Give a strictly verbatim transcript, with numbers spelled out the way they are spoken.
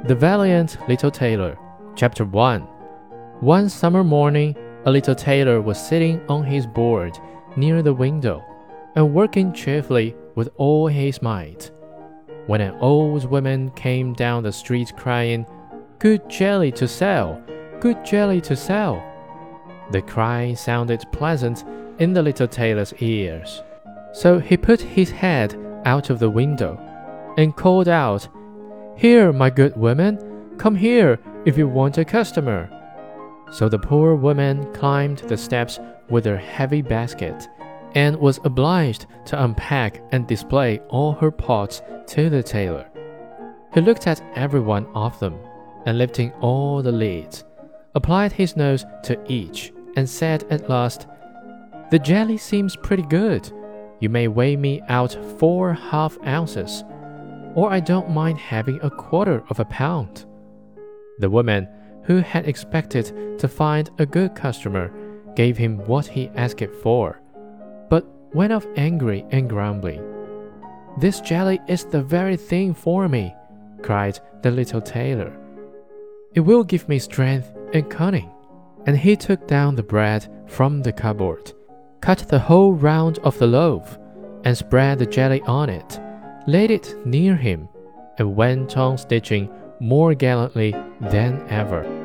The Valiant Little Tailor, Chapter one. One summer morning, a little tailor was sitting on his board near the window and working cheerfully with all his might, when an old woman came down the street crying, "Good jelly to sell! Good jelly to sell!" The cry sounded pleasant in the little tailor's ears, so he put his head out of the window and called out, "Here, my good woman, come here if you want a customer." So the poor woman climbed the steps with her heavy basket and was obliged to unpack and display all her pots to the tailor. He looked at every one of them, and lifting all the lids, applied his nose to each and said at last, "The jelly seems pretty good. You may weigh me out four half ounces, or I don't mind having a quarter of a pound." The woman, who had expected to find a good customer, gave him what he asked for, but went off angry and grumbling. "This jelly is the very thing for me," cried the little tailor. "It will give me strength and cunning." And he took down the bread from the cupboard, cut the whole round of the loaf, and spread the jelly on it, laid it near him, and went on stitching more gallantly than ever.